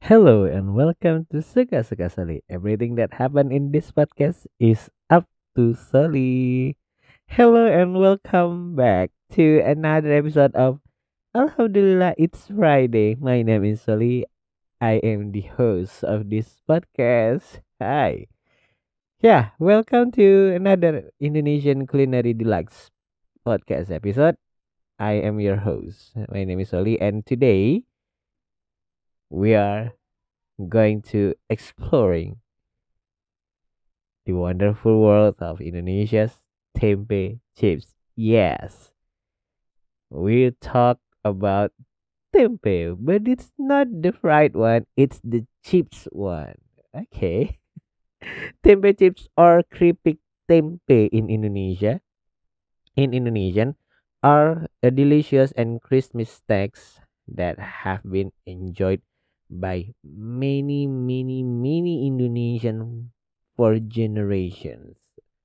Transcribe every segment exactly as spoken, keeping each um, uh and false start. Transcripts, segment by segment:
Hello and welcome to Suka Suka Soli. Everything that happened in this podcast is up to Soli. Hello and welcome back to another episode of Alhamdulillah It's Friday. My name is Soli. I am the host of this podcast. Hi. Yeah, welcome to another Indonesian Culinary Deluxe podcast episode. I am your host. My name is Soli and today we are going to exploring the wonderful world of Indonesia's tempe chips. Yes, we talk about tempe, but it's not the fried one, it's the chips one. Okay. Tempe chips or keripik tempe in Indonesia, in Indonesian, are a delicious and crispy snacks that have been enjoyed by many, many, many Indonesian for generations.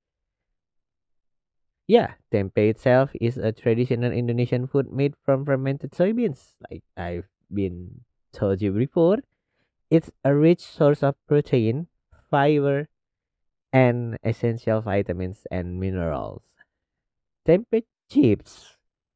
Yeah, tempe itself is a traditional Indonesian food made from fermented soybeans. Like I've been told you before, it's a rich source of protein, fiber, and essential vitamins and minerals. Tempe chips,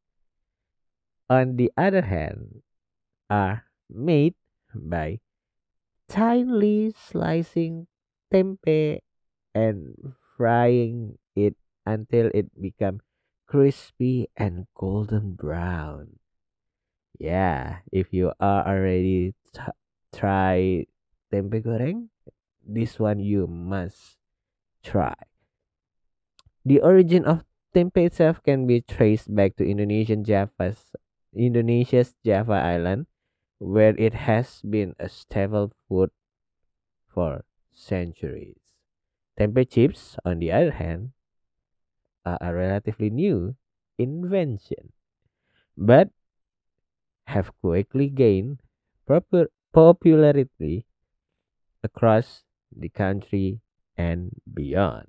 on the other hand, are made by tinely slicing tempeh and frying it until it becomes crispy and golden brown. Yeah, if you are already t- try tempe goreng, this one you must try. The origin of tempe itself can be traced back to Indonesian Java's Indonesia's Java Island, where it has been a staple food for centuries. Tempe chips, on the other hand, are a relatively new invention, but have quickly gained proper popularity across the country and beyond.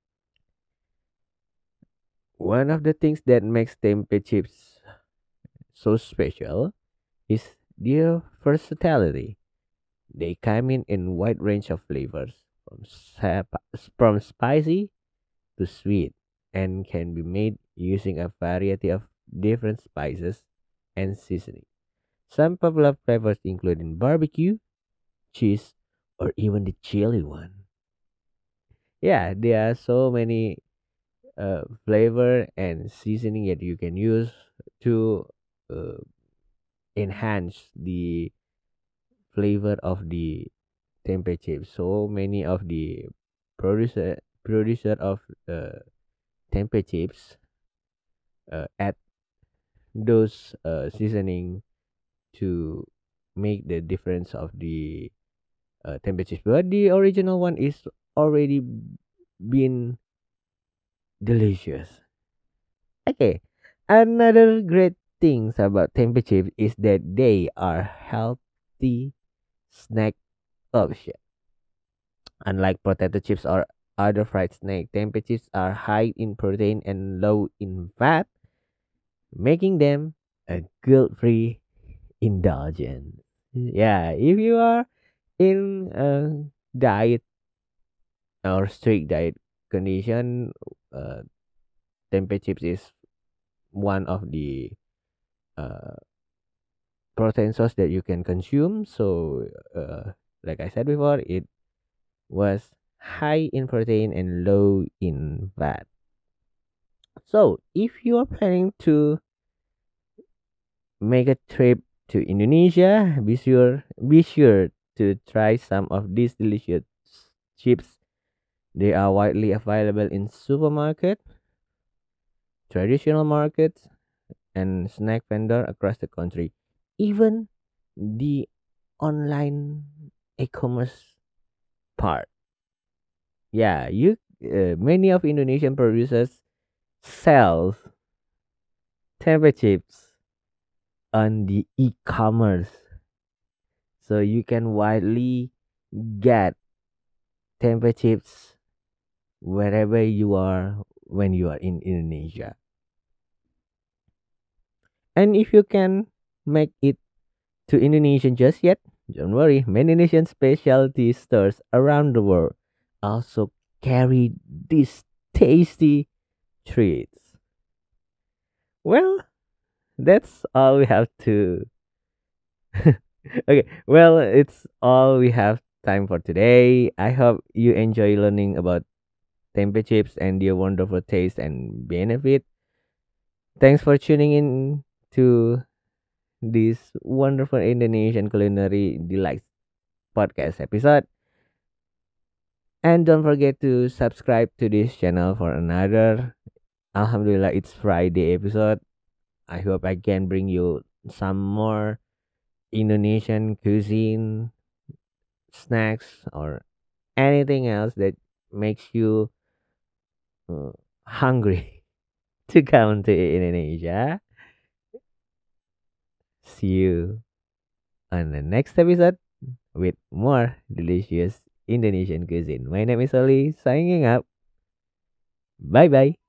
One of the things that makes tempeh chips so special is their versatility. They come in a wide range of flavors, from sap- from spicy to sweet, and can be made using a variety of different spices and seasoning. Some popular flavors include barbecue, cheese, or even the chili one. Yeah, there are so many uh, flavor and seasoning that you can use to uh, enhance the flavor of the tempeh chips. So many of the producer producer of uh, tempeh chips uh, add those uh, seasoning to make the difference of the uh, tempeh chips. But the original one is already been delicious. Okay, another great things about tempeh chips is that they are healthy snack option. Unlike potato chips or other fried snack, tempeh chips are high in protein and low in fat, making them a guilt-free indulgence. Yeah, if you are in a diet or strict diet condition, uh, tempeh chips is one of the uh, protein source that you can consume. So, uh, like I said before, it was high in protein and low in fat. So, if you are planning to make a trip to Indonesia, be sure be sure to try some of these delicious chips. They are widely available in supermarket, traditional markets, and snack vendor across the country. Even the online e-commerce part. Yeah, you uh, many of Indonesian producers sell tempeh chips on the e-commerce, so you can widely get tempeh chips wherever you are when you are in Indonesia. And if you can make it to Indonesia just yet, Don't worry, many Indonesian specialty stores around the world also carry these tasty treats. Well, that's all we have to. Okay, well, it's all we have time for today. I hope you enjoy learning about tempeh chips and their wonderful taste and benefit. Thanks for tuning in to this wonderful Indonesian culinary delights podcast episode. And don't forget to subscribe to this channel for another Alhamdulillah it's Friday episode. I hope I can bring you some more Indonesian cuisine, snacks, or anything else that makes you uh, hungry to come to Indonesia. See you on the next episode with more delicious Indonesian cuisine. My name is Oli, signing up. Bye bye.